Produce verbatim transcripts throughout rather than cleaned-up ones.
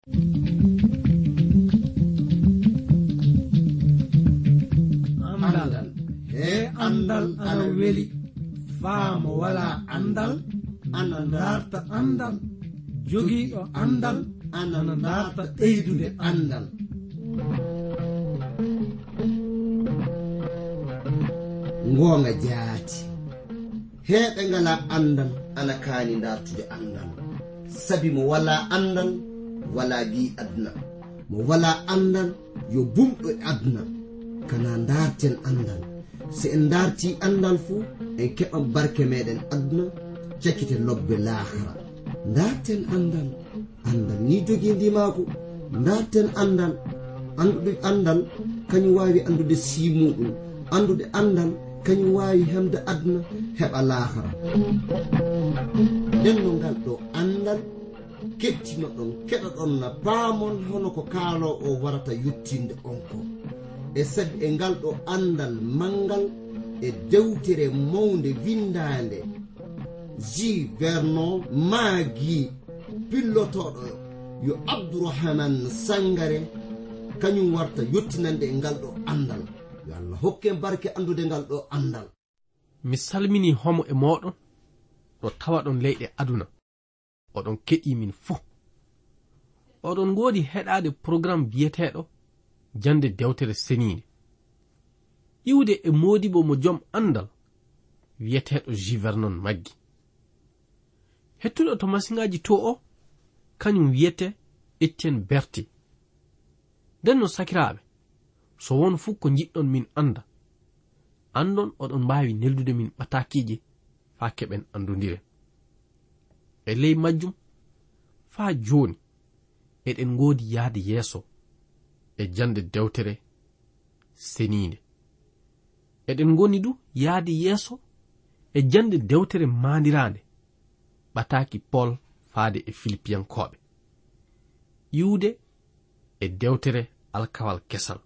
andal he andal ana weli faamo wala andal ana darta andal jogiiɗo andal ana darta ɓeydude andal. Ngonga jaati heɓe ngala andal ana kaani dartude andal, sabi mo wala andal wala bi adna, mo wala andal yo bumɗo adna. Kana darten andal, se en darti andal fu en keɓan barke meɗen adna, cakkite lobbe lahara. Darten andal, andal ni jogi ndimako. Darten andal, andude andal kañum wawi andude simuɗum, andude andal kañum wawi hemde adna heɓa lahara. nden no ngal ɗo andal kettino ɗon keɗa ɗon na paamon hono ko kaalo o warata yuttinde on ko, e sabi e ngal ɗo andal mangal e dewtere mawde windande J Vernon maagi pillotoɗo yo Abdourahmane Sangare, kañum warta yottinande e ngal ɗo andal. Yo Allah hokke barke andude ngal ɗo andal. Mi salmini homo e moɗon ɗo tawa ɗon leyɗe aduna, oɗon keɗi min fuu. Oɗon godi heɗade programme biyeteɗo jande dewtere senide, iwde e modibo mo joom andal wiyeteɗo J Vernon maggi. Hettuɗo to masiŋaji to o kañum wiyete Etienne Berti. nden no sakiraɓe, so won fuu ko jiɗɗon min anda, andon oɗon mbawi neldude min ɓatakiji fa keɓen andodiren. E ley majjum fa joni eɗen godi yaade yeeso e jande dewtere senide. Eɗen goni du yaade yeeso e jande dewtere mandirande ɓataki Paul faade e Filipiyankoɓe, iwde e dewtere alkawal kesal.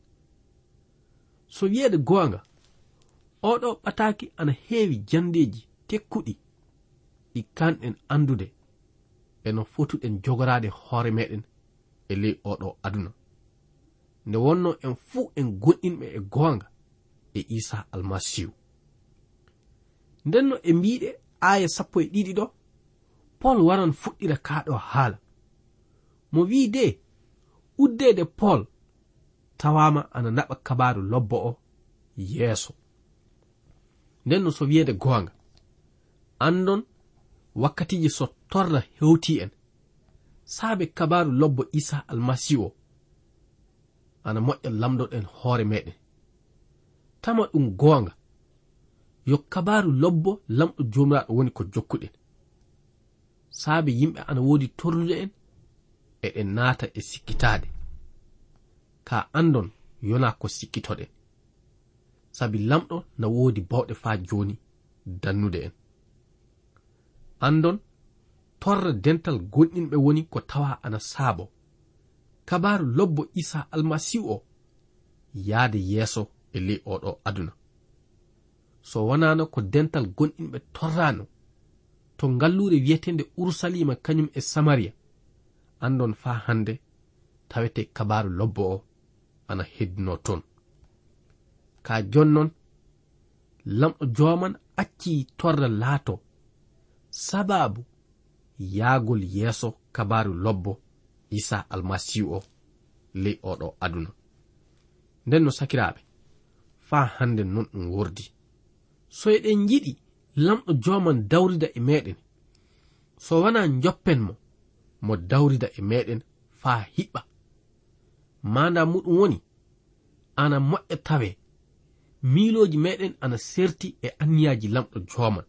So wiyeede goonga, oɗo ɓataki ana heewi jandeji tekkuɗi ɗi kanɗen andude e no fotuɗen jogorade hoore meɗen e ley oɗo aduna, nde wonno en fuu en gonɗinɓe e goonga e Isa almasihu. Ndenno e mbiɗe aya sappo e ɗiɗi ɗo, Paul waran fuɗɗira kaɗo haala mo wi de uddede Paul tawama ana naɓa kabaru lobbo o yeeso. Ndenno so wiyeede goonga, andon wakkatiji so torra hewti en saabe kabaru lobbo Isa almasihu o ana moƴƴa lamdoɗen hoore meɗen. Tama ɗum goonga yo kabaru lobbo lamɗo jomiraɗo woni ko jokkuɗen. Saabe yimɓe ana woodi torrude en eɗen naata e sikkitaade, ka andon yona ko sikkitoɗen, sabi lamɗo na woodi bawɗe faa joni dannude en. Andon torra dental gonɗinɓe woni ko tawa ana saabo kabaru lobbo Isa almasihu o yaade yeeso e ley oɗo aduna. So wonano ko dental gonɗinɓe torrano to ngallure wiyetende Urusalima kañum e Samaria, andon fa hande tawete kabaru lobbo o ana heddino ton. Ka jonnon lamɗo joman acci torra laato sababu yaagol yeeso kabaru lobbo Isa almasihu o ley oɗo aduna. Nden no sakiraɓe, fa hande non ɗum wordi. So eɗen jiɗi lamɗo joman dawrida e meɗen, so wana joppen mo mo dawrida e meɗen fa hiɓɓa, manda muɗum woni ana moƴƴa tawe miiloji meɗen ana serti e anniyaji lamɗo joman.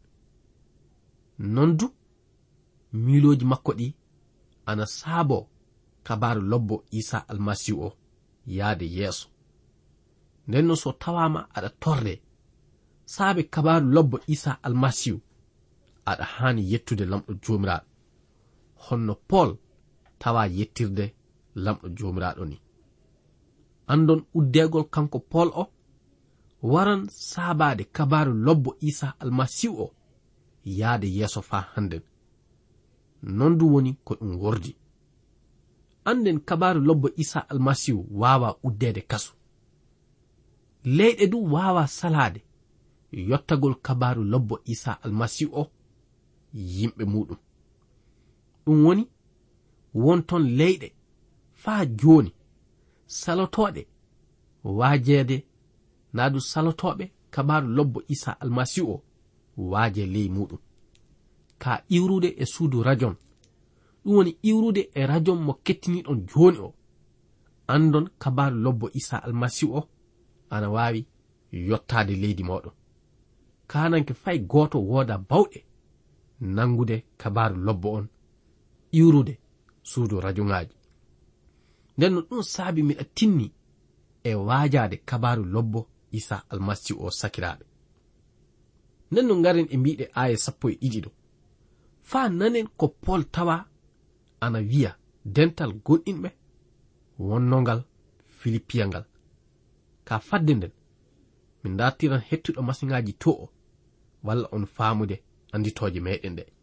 Non du miiloji makko ɗi ana saabo kabaru lobbo Isa almasihu o yaade yeeso. Ndenno so tawama aɗa torde saabe kabaru lobbo Isa almasihu, aɗa hani yettude lamɗo jomiraɗo honno Paul tawa yettirde lamɗo jomiraɗo ni. Andon uddegol kanko Paul o waran saabade kabaru lobbo Isa almasihu o yaade yeeso fa handen. Non du woni ko ɗum wordi. anden kabaru lobbo Isa almasihu wawa uddede kasu. Leyɗe du wawa salade yottagol kabaru lobbo Isa almasihu o yimɓe muɗum. Ɗum woni wonton leyɗe faa joni salotoɗe wajeede naadu salotoɓe kabaru lobbo Isa almasihu o waaje ley muɗum. Ka iwrude e suudu rajon ɗum woni iwrude e rajon mo kettiniɗon joni o andon kabaru lobbo Isa almasihu o ana wawi yottade leydi moɗon. Kananke fay goto woda bawɗe nangude kabaru lobbo on iwrude suudu rajongaji. Nden no ɗum saabi miɗa tinni e waajade kabaru lobbo Isa almasihu o sakiraɓe. Nden no ngaren e mbiɗe aya sappo e ɗiɗi ɗo faa nanen ko Paul tawa ana wiya dental gonɗinɓe wonnongal Filipiya ngal. Ka fadde nden min dartiran hettuɗo masiŋaji to o walla on faamude anditoje meɗen ɗe.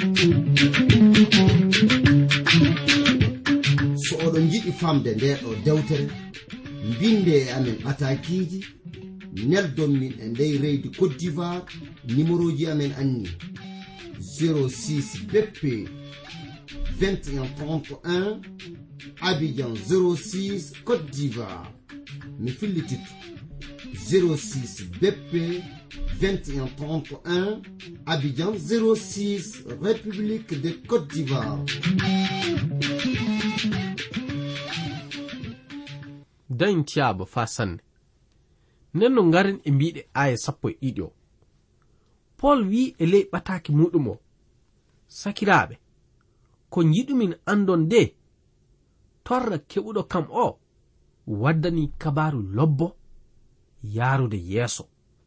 So oɗon jiɗi famde nde ɗo dewtere binde e amen atakiji neldon min e ndey reydi Côte d'Ivoire. Numéroji amen anni zéro six B P vingt et un trente et un Abidjan zéro six Côte d'Ivoire. Mi fillititto zéro six B P vingt et un trente et un Abidjan zéro six République de Côte d'Ivoire. dañ tiyaaba fa sanne. Nden no ngaren e mbiɗe aya sappo e ɗiɗi o Paul wi e ley ɓataki muɗum o sakiraɓe ko jiɗumin andon de torra keɓuɗo kam o waddani kabaru lobbo yarude yeeso.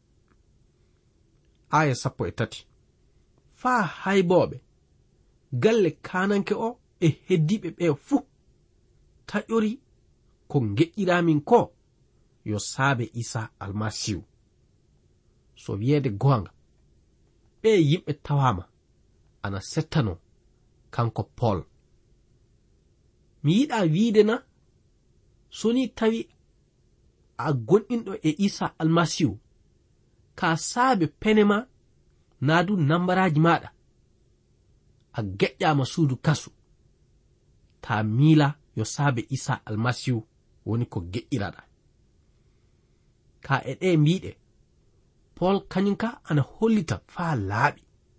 Aya sappo e tati faa hayboɓe galle kananke o e heddiɓe ɓe fuu taƴori ko geƴƴiramin ko yo saabe Isa almasihu. So wiyeede gonga ɓe yimɓe tawama ana settano kanko Paul. Mi yiɗa wiide na soni tawi a gonɗinɗo e Isa almasihu ka saabe penema naadu nambaraji maɗa a geƴƴama suudu kasu ta miila yo saabe Isa almasihu woni ko geƴƴiraɗa. Ka e ɗe mbiɗe Paul kañum ka ana hollita faa laaɓi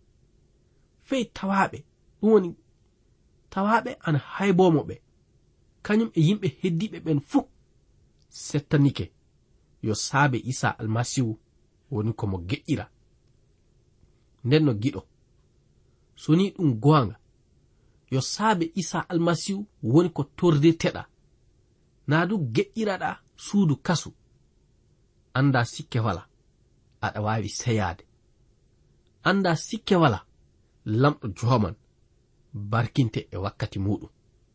fey tawaɓe ɗum woni tawaɓe ana haybomo ɓe kañum e yimɓe heddiɓe ɓen fuu settanike yo saabe Isa almasihu woni komo geƴƴira. Nden no giɗo soni ɗum gonga yo saabe Isa almasihu woni ko tordirteɗa naadu geƴƴiraɗa suudu kasu anda sikke wala aɗa wawi seyade. Anda sikke wala lamɗo joman barkinte e wakkati muɗum.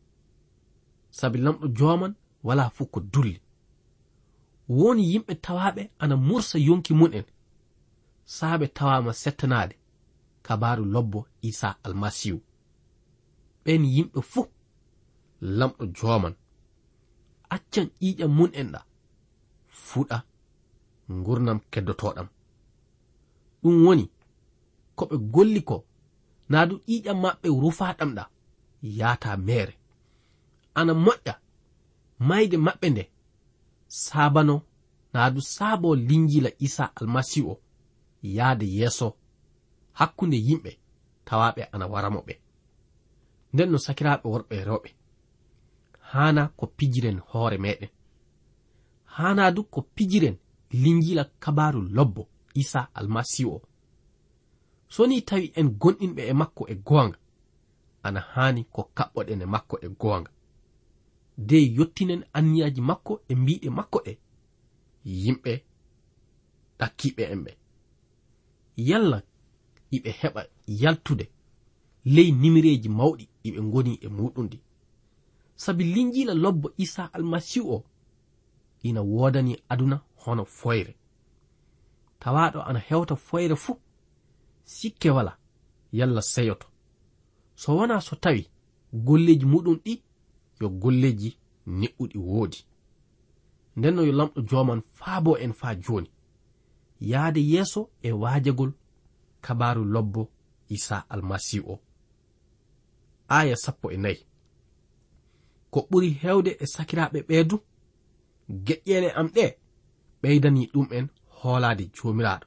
Sabi lamɗo joman wala fu ko dulli. Woni yimɓe tawaɓe ana mursa yonki mun en saabe tawama settanade kabaru lobbo Isa almasihu. ɓen yimɓe fuu lamɗo joman accan ƴiƴam mun en ɗa fuɗa gurnam keddotoɗam. Ɗum woni ko ɓe golli ko naadu ƴiƴam maɓɓe rufaɗam ɗa yaata mere ana moƴƴa mayde maɓɓe nde sabano naadu saabo linjila Isa almasihu o yaade yeeso hakkunde yimɓe tawaɓe ana waramo ɓe. Nden no sakiraɓe worɓe e rewɓe hana ko pijiren hoore meɗen, hana du ko pijiren linjila kabaru lobbo Isa almasihu o. Soni tawi en gonɗinɓe e makko e gonga ana hani ko kaɓɓoɗen e makko e gonga de yottinen anniyaji makko e mbiɗe makko ɗe yimɓe ɗakkiɓe en ɓe yalla iɓe heɓa yaltude ley nimireji mawɗi iɓe ngoni e muɗum ɗi. Sabi linjila lobbo Isa almasihu o ina wodani aduna hono foyre. Tawaɗo ana hewta foyre fu sikke wala yalla seyoto so wona so tawi golleji muɗum ɗi yo golleji ne'uɗi woodi. Nden no yo lamɗo joman faabo en faa joni yaade yeeso e waajagol kabaru lobbo Isa almasihu o. Aya sappo e nayi. Ko ɓuri hewde e sakiraaɓe ɓeedu geƴƴele am ɗe ɓeydani ɗum en hoolaade joomiraaɗo.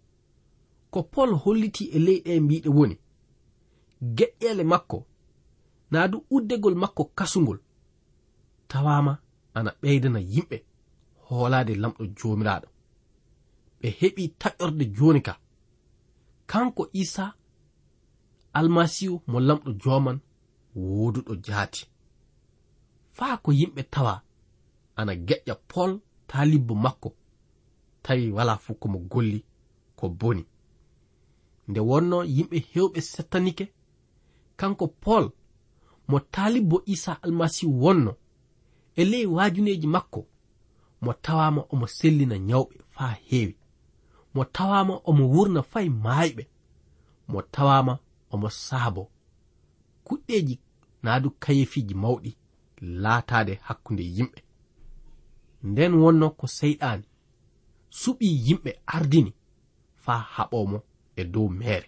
Ko Pol holliti e leyɗe mbiɗe woni geƴƴele makko naa du uddegol makko kasungol tawama ana ɓeydana yimɓe hoolaade lamɗo joomiraaɗo. Ɓe heɓi taƴorde joni ka kanko Isa almasihu mo lamɗo joman woduɗo jaati. Faa ko yimɓe tawa ana geƴƴa Pol taalibbo makko tawi wala fu ko mo golli ko boni. Nde wonno yimɓe hewɓe settanike kanko Pol mo taalibbo Isa almasihu wonno e ley waajuneji makko mo tawama omo sellina nyawɓe faa heewi, mo tawama omo wurna fay maayɓe, mo tawama omo saabo kuɗɗeji naadu kayefiji mawɗi laataade hakkunde yimɓe. Nden wonno ko seyɗaani suɓi yimɓe ardini faa haɓomo e dow meere.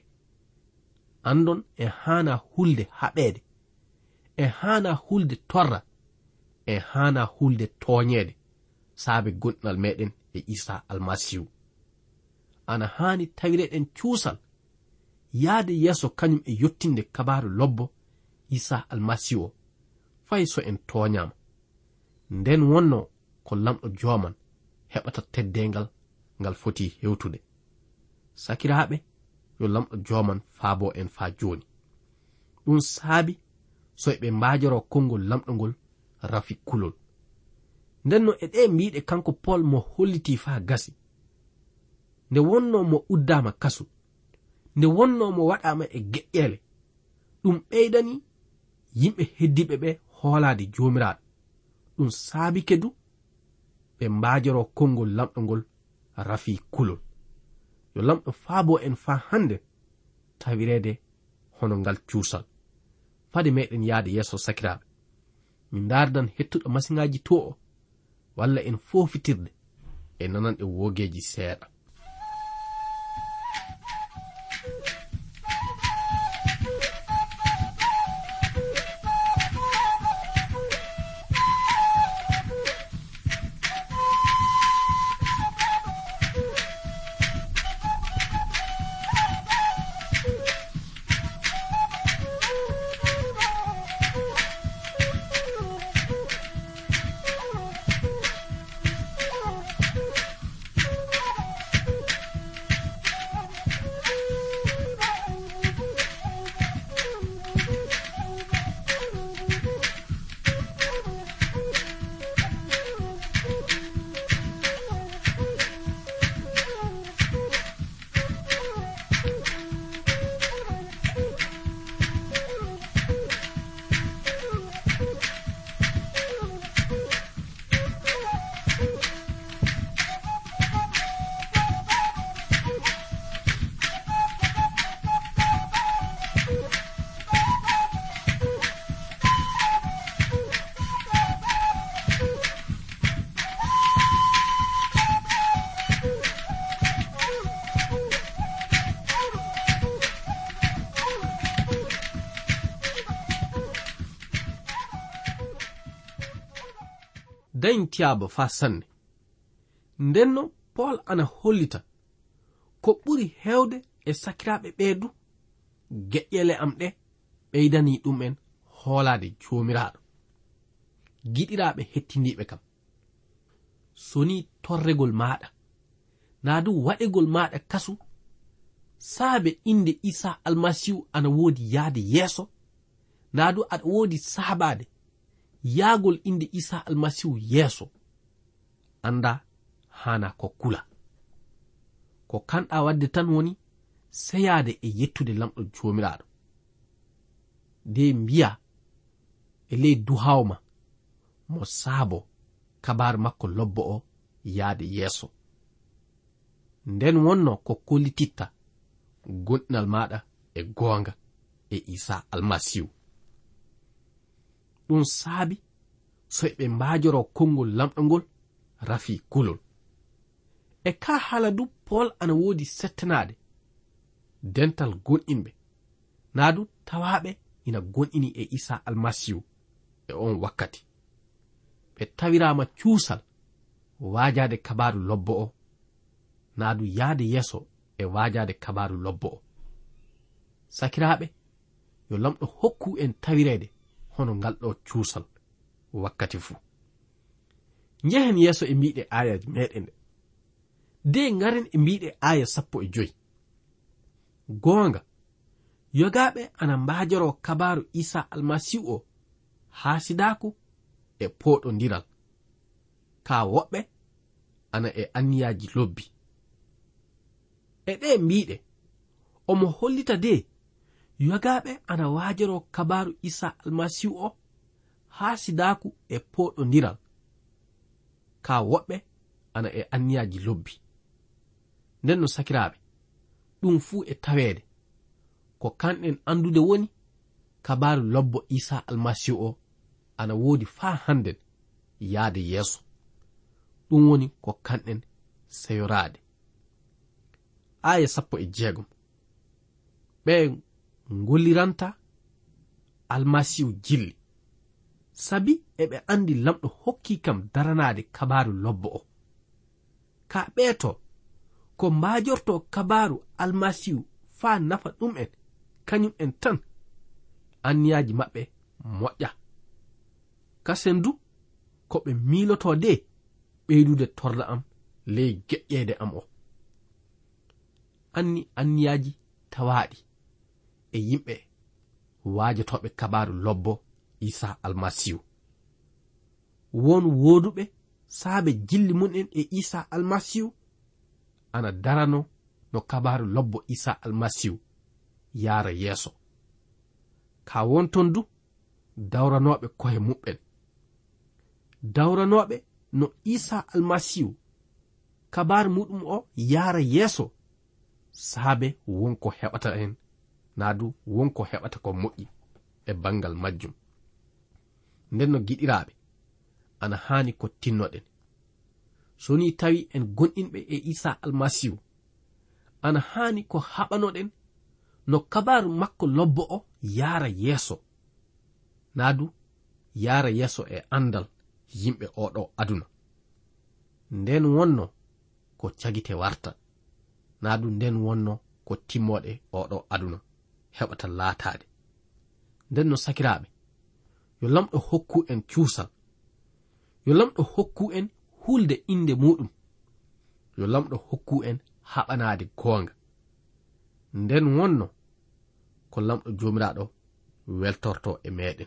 Andon e haana hulde haɓeede, e haana hulde torra, e haana hulde tooñeede saabe gonɗinal meɗen e Isa almasihu. Ana haani tawireɗen cuusal yaade yeeso kañum e yottinde kabaru lobbo Isa almasihu o fay so en tooñama. Nden wonno ko lamɗo joman heɓata teddengal ngal foti hewtude. Sakiraaɓe, yo lamɗo joman faabo en faa joni. Ɗum saabi so eɓe mbaajoro konngol lamɗo ngol rafi kulol. Nden no e ɗe mbiɗe kanko Pol mo holliti faa gasi. Nde wonno mo uddama kasu, nde wonno mo waɗama e geƴƴele, ɗum ɓeydani yimɓe heddiɓe ɓe hoolaade joomiraaɗo. Ɗum saabi kedu ɓe mbaajoro konngol lamɗo ngol rafi kulol. Yo lamɗo faabo en faa hande tawirede hono ngal cuusal. Fade meɗen yaade yeeso sakiraaɓe, min dardan hettuɗo masiŋaji to o walla en fofitirde e nananɗe wogeji seeɗa. dañtiyaaba faa sanne. Ndenno Paul ana hollita ko ɓuri hewde e sakiraaɓe ɓeedu geƴƴele am ɗe ɓeydani ɗum en hoolaade joomiraaɗo. Giɗiraaɓe hettindiiɓe kam, soni torregol maaɗa naa du waɗegol maaɗa kasu saabe inde Isa almasihu ana woodi yaade yeeso, naa du aɗa woodi saabaade yaagol inde Isa almasihu yeeso, anda hana ko kula. Ko kanɗa wadde tan woni seyaade e yettude lamɗo joomiraaɗo. De mbiya e ley duhawma mo saabo kabar makko lobbo o yaade yeeso. Nden wonno ko kollititta gonɗinal maɗa e goonga e Isa almasihu. Ɗum saabi so ɓe mbajoro konngol lamɗo ngol rafi kulol. E ka haala du Paul ana woodi settanade dental gonɗinɓe naa du tawaɓe ina gonɗini e Isa almasihu e on wakkati. ɓe tawirama cuusal waajade kabaru lobbo o naa du yaade yeso e waajade kabaru lobbo o. Sakiraaɓe, yo lamɗo hokku en tawirede hono ngal ɗo cuusal wakkati fuu. Njehen yeso e mbiɗe ayaji meɗen ɗe. De ngaren e mbiɗe aya sappo e joyi. Goonga, yogaɓe ana mbajoro kabaru Isa almasihu o haasidaku e poɗodiral, ka woɓɓe ana e anniyaji lobbi. E ɗe mbiɗe omo hollita de yogaɓe ana wajoro kabaru Isa almasihu o haasidaku e poɗodiral, ka woɓɓe ana e anniyaji lobbi. Nden no sakiraaɓe, ɗum fuu e taweede ko kanɗen andude woni kabaru lobbo Isa almasihu o ana woodi faa hannden yaade yeeso. Ɗum woni ko kanɗen seyoraade. Aya sappo e jeegom. Ɓe ngolliranta almasihu jilli, sabi eɓe andi lamɗo hokki kam daranaade kabaru lobbo o. Ka ɓeeto ko mbajorto kabaru almasihu faa nafa ɗum en kañum en tan, anniyaji maɓɓe moƴƴa. Kasen du ko ɓe miiloto de ɓeydude torla am ley geƴƴeede am o. Anni anniyaji tawaaɗi e yimɓe waajotoɓe kabaru lobbo Isa almasihu. Won wooduɓe saabe jilli mun en e Isa almasihu ana darano no kabaru lobbo Isa almasihu yaara yeeso. Ka wonton du dawranoɓe kohe muɓɓen, dawranoɓe no Isa almasihu kabaru muɗum o yaara yeeso, saabe wonko heɓata hen naadu wonko heɓata ko moƴƴi e bangal majjum. Nden no giɗiraɓe, ana haani ko tinnoɗen. So ni tawi en gonɗinɓe e Isa almasihu, ana haani ko haɓanoɗen no kabaru makko lobbo o yaara yeeso, naadu yaara yeeso e andal yimɓe oɗo aduna. Nden wonno ko cagite warta, naadu nden wonno ko timmoɗe oɗo aduna heɓata laataade. Nden no sakiraaɓe, yo lamɗo hokku en cuusal, yo lamɗo hokku en hulde inde muɗum, yo lamɗo hokku en haɓanaade goonga. Nden wonno ko lamɗo jomiraɗo weltorto e meɗen.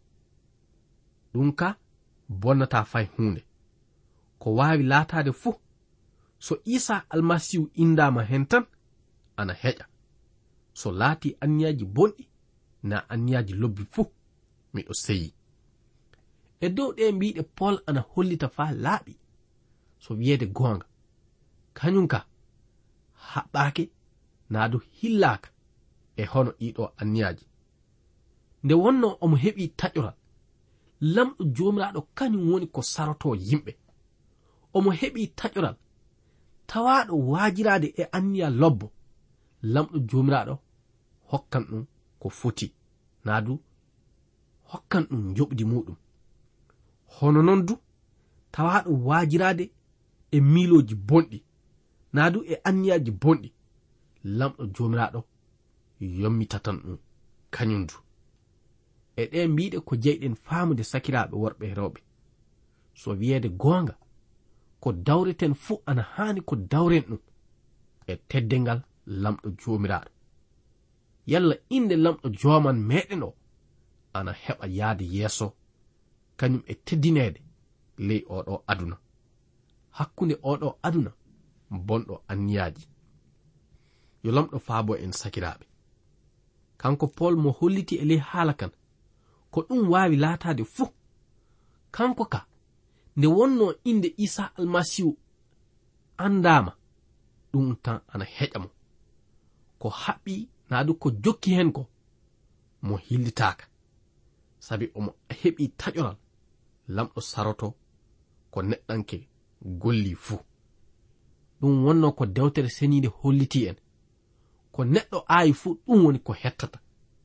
Ɗum ka bonnata fay hunde, ko waawi laataade fuu so Isa almasihu indama hen tan ana heƴa. So laati anniyaji bonɗi na anniyaji lobbi fuu miɗo seyi. E dow ɗe mbiɗe Paul ana hollita faa laaɓi so wiyeede goonga, kañum ka haɓɓaake naadu hillaaka e hono ɗiɗo anniyaji. Nde wonno omo heɓi taƴoral, lamɗo jomiraɗo kañum woni ko saroto yimɓe. Omo heɓi taƴoral tawaɗo waajirade e anniya lobbo, lamɗo jomiraɗo hokkan ɗum ko foti, naadu hokkan ɗum joɓdi muɗum. Hono non du tawaɗo waajirade e miiloji bonɗi, naadu e anniyaji bonɗi, lamɗo jomiraɗo yommitatan ɗum kañum du. E ɗe mbiɗe ko jeyɗen faamude sakiraaɓe worɓe e rewɓe, so wiyeede goonga, ko dawreten fuu ana haani ko dawren ɗum e teddengal lamɗo jomiraɗo. Yalla inde lamɗo jooman meɗen o ana heɓa yaade yeeso kañum e teddineede ley oɗo aduna, hakkunde oɗo aduna bonɗo anniyaji. Yo lamɗo faabo en sakiraaɓe, kanko Paul mo holliti e ley haala kan ko ɗum waawi laataade fuu, kanko ka nde wonno inde Isa almasihu andama, ɗum tan ana heƴa mo. Ko haɓɓi naadu ko jokki hen ko mo hillitaaka, sabi omo heɓi taƴoral lamɗo saroto ko neɗɗanke golli fuu. ɗum wonno ko dewtere senide holliti en ko neɗɗo aayi fuu ɗum woni ko hettata.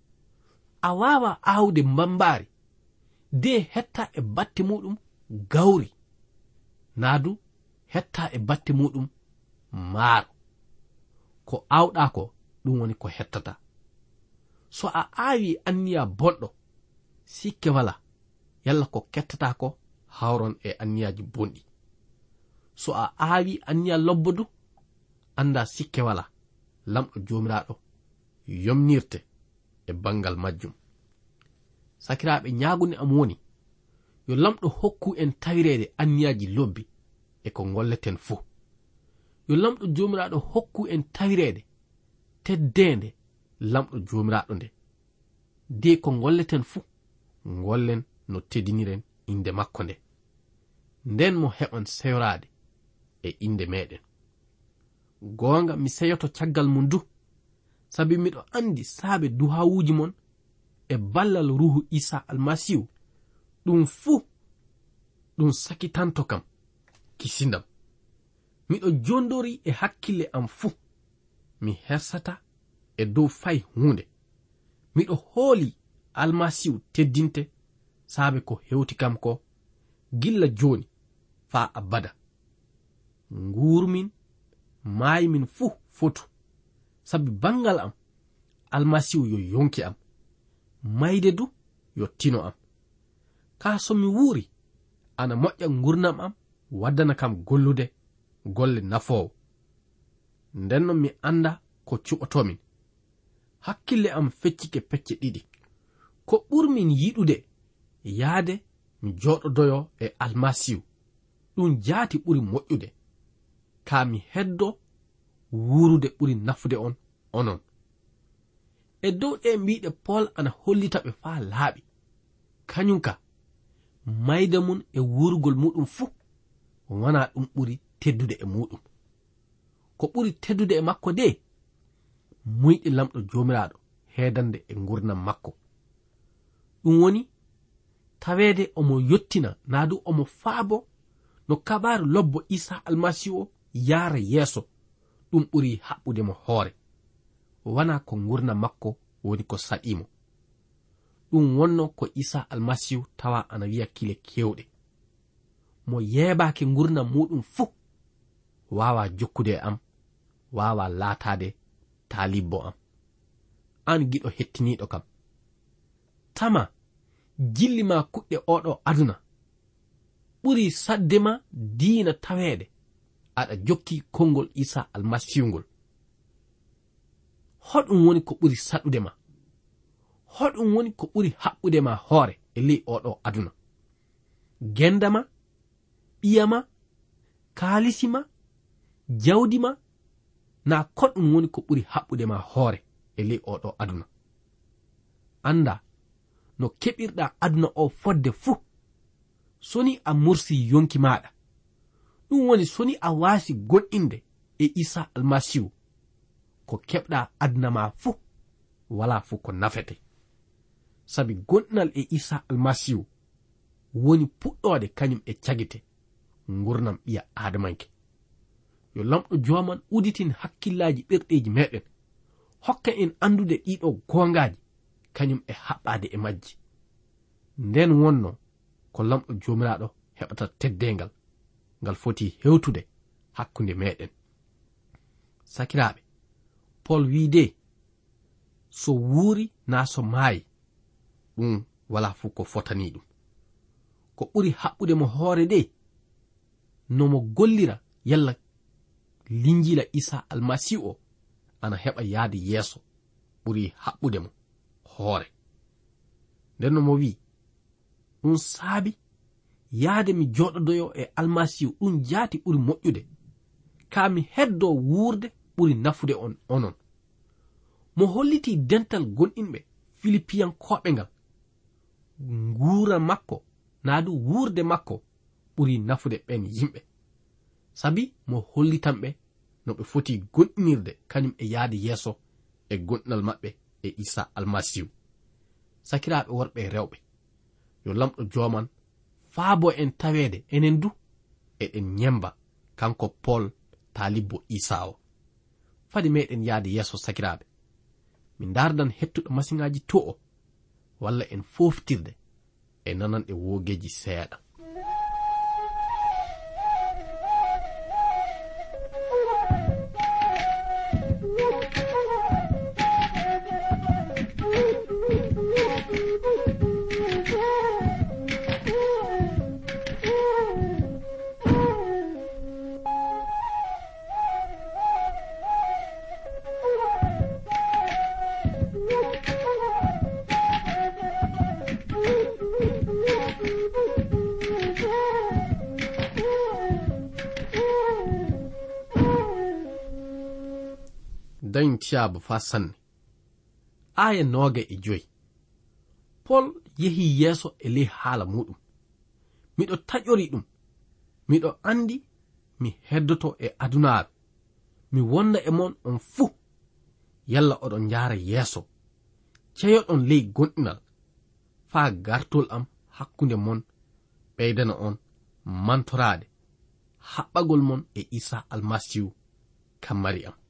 a wawa aawde mbambaari de hetta e batte muɗum gawri naadu hetta e batte muɗum maaro. ko awɗa ko ɗum woni ko hettata. so a aawi anniya bonɗo sikke wala yalla ko kettata ko hawron e anniyaji bonɗi. so a aawi anniya lobbodu anda sikke wala lamɗo jomiraɗo yomnirte e bangal majjum. sakiraɓe, ñagunde am woni yo lamɗo hokku en tawirede anniyaji lobbi e ko golleten fuu. yo lamɗo jomiraɗo hokku en tawirede teddende lamɗo jomiraɗo nde de ko golleten fuu gollen no teddiniren inde makko nde, nden mo heɓan seyorade e inde meɗen. gonga mi seyoto caggal mum du sabi miɗo andi saabe duhawuji mon e ballal ruhu Isa almasihu ɗum fuu ɗum sakitanto kam kisindam. miɗo jondori e hakkille am fuu mi hersata e dow fay hunde. miɗo hooli almasihu teddinte saabe ko hewti kam ko gilla joni faa abada. nguurmin maayi min fuu fotu sabi bangal am almasihu yo yonki am, mayde du yo tino am. ka so mi wuuri ana moƴƴa gurnam am waddana kam gollude golle nafoowo. ndenno mi anda ko cuɓotomin. hakkille am feccike pecce ɗiɗi. ko ɓurmin yiɗude yaade mi joɗodoyo e almasihu ɗum jaati ɓuri moƴƴude. ka mi heddo wuurude ɓuri nafude on onon. e dow ɗe mbiɗe Paul ana hollita ɓe faa laaɓi. kañum ka mayde mum e wuurugol muɗum fuu wona ɗum ɓuri teddude e muɗum. ko ɓuri teddude e makko de muyɗe lamɗo jomiraɗo heedande e gurnam makko. ɗum woni taweede omo yottina naadu omo faabo no kabaru lobbo Isa almasihu o yaara yeeso ɗum ɓuri haɓɓude mo hoore. wana ko gurnam makko woni ko saɗimo. ɗum wonno ko Isa almasihu tawa ana wiya kile kewɗe. mo yeebaake gurnam muɗum fuu wawa jokkude am, wawa laatade taalibbo am. an giɗo hettiniɗo kam, tama jilli ma kuɗɗe oɗo aduna ɓuri saddema diina taweede aɗa jokki konngol Isa almasihu ngol. hoɗum woni ko ɓuri saɗude ma? hoɗum woni ko ɓuri haɓɓude ma hoore e ley oɗo aduna? gendama, ɓiyama, kaalisima, jawdima, na koɗum woni ko ɓuri haɓɓude ma hoore e ley oɗo aduna? anda no keɓirɗa aduna o fodde fuu soni a mursi yonki maɗa. ɗum woni soni a waasi gonɗinde e Isa almasihu ko keɓɗa aduna ma fuu wala fuu ko nafete. sabi gonɗinal e Isa almasihu woni puɗɗode kañum e cagite gurnam ɓiya adamanke. yo lamɗo joman uditin hakkillaji ɓerɗeji meɗen hokka en andude ɗiɗo gongaji kañum e haɓɓade e majji. nden wonno ko lamɗo jomiraɗo heɓata teddengal ngal foti hewtude hakkunde meɗen. sakiraɓe, Paul wiide so wuuri na so maayi ɗum wala fu ko fotani ɗum. ko ɓuri haɓɓude mo hoore de no mo gollira yalla linjila Isa almasihu o ana heɓa yaade yeeso ɓuri haɓɓude mo hoore. nden no mo wi ɗum saabi yaade mi joɗodoyo e almasihu ɗum jaati ɓuri moƴƴude. ka mi heddo wuurde ɓuri nafude on onon. mo holliti dental gonɗinɓe Filipiyankoɓe ngal nguura makko naadu wuurde makko ɓuri nafude ɓen yimɓe. sabi mo hollitanɓe no ɓe foti gonɗinirde kañum e yaade yeeso e gonɗinal maɓɓe e Isa almasihu. sakiraɓe worɓe e rewɓe, yo lamɗo joman faabo en tawede enen du eɗen nyemba kanko Paul talibbo Isa o. Fadi meɗen yaade yeso sakiraɓe, min dardan hettuɗo masiŋaji to o walla en foftirde e nananɗe wogeji seeɗa. dañ tiyaaba fa sanne aya noga e joyi. Paul yehi yeso e ley haala muɗum. Miɗo taƴori ɗum, miɗo andi mi heddoto e adunaaru, mi wonda e mon on fuu, yalla oɗon jaara yeeso ceyoɗon ley gonɗinal faa gartol am hakkunde mon ɓeydana on mantorade haɓɓagol mon e Isa almasihu kammari am.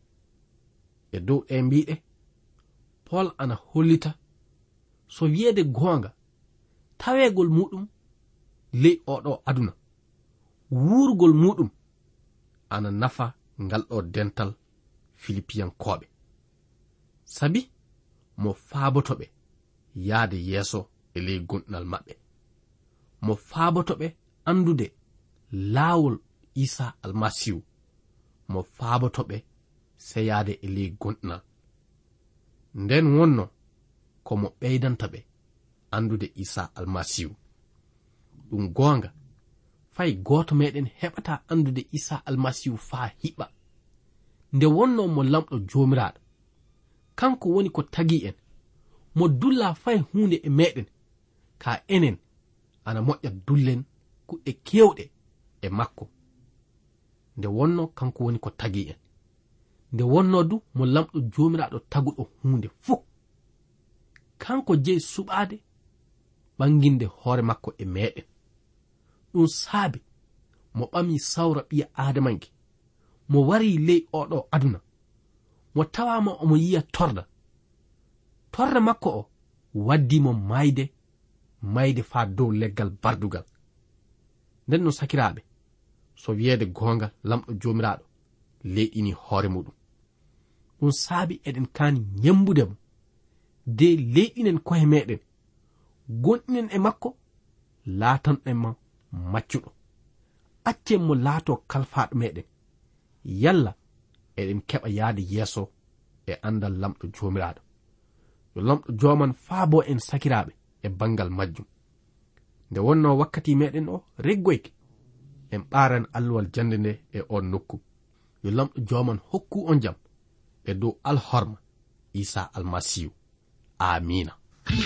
E dow e mbiɗe Paul ana hollita so wiyeede goonga taweegol muɗum ley oɗo aduna, wuurgol muɗum ana nafa ngal ɗo dental Filipiyankoɓe, sabi mo faabotoɓe yaade yeeso e ley gonɗinal maɓɓe, mo faabotoɓe andude laawol Isa almasihu, mo faabotoɓe seyaade e ley gonɗinal. Nden wonno ko mo ɓeydantaɓe andude Isa almasihu. Ɗum goonga fay gooto meɗen heɓata andude Isa almasihu faa hiɓa, nde wonno mo lamɗo jomiraɗo, kanko woni ko tagi en, mo dulla fay hunde e meɗen, ka enen ana moƴƴa dullen kuɗɗe kewɗe e makko. Nde wonno kanko woni ko tagi en, nde wonno du mo lamɗo jomiraɗo taguɗo hunde fuu, kanko jeyi suɓaade ɓanginde hoore makko e meɗen. Ɗum saabi mo ɓami sawra ɓiya Adamanke, mo wari ley oɗo aduna, mo tawama omo yiya torda. Torda makko o waddimo mayde mayde faa dow leggal bardugal. Nden no sakiraɓe, so wiyeede gonga lamɗo jomiraɗo leyɗini hoore muɗum. Ɗum saabi eɗen kaani nyembude mo de leyɗinen kohe meɗen, gonɗinen e makko, laatanɗen ma maccuɗo. Accen mo laato kalfaɗo meɗen, yalla eɗen keɓa yaade yeeso e andal lamɗo jomiraɗo. Yo lamɗo joman faabo en sakiraɓe e bangal majjum. Nde wonno wakkati meɗen o reggoyke, en ɓaran alluwal jande nde e on nokku. Yo lamɗo joman hokku on jam e dow alhorma Isa almasihu. Amina.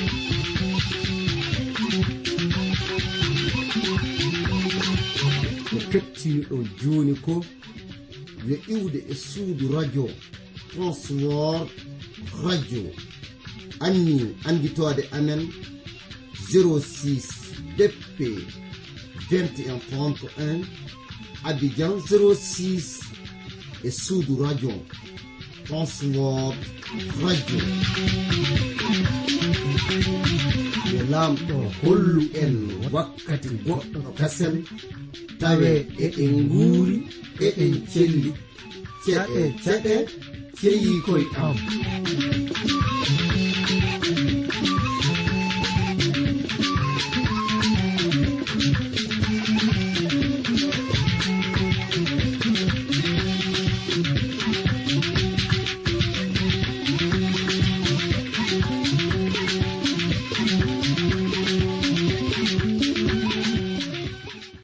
ko kettiniɗo joni ko yo iwde e suudu radio Transworld radio anni anditode amen zéro six D P vingt et un trente et un Abidjan zéro six e suudu radio Transworld radio. Yo lamɗo hollu en wakkati goɗɗo kasel tawe eɗen nguuri eɗen celli ceɗe ceɗe ceyi koye am.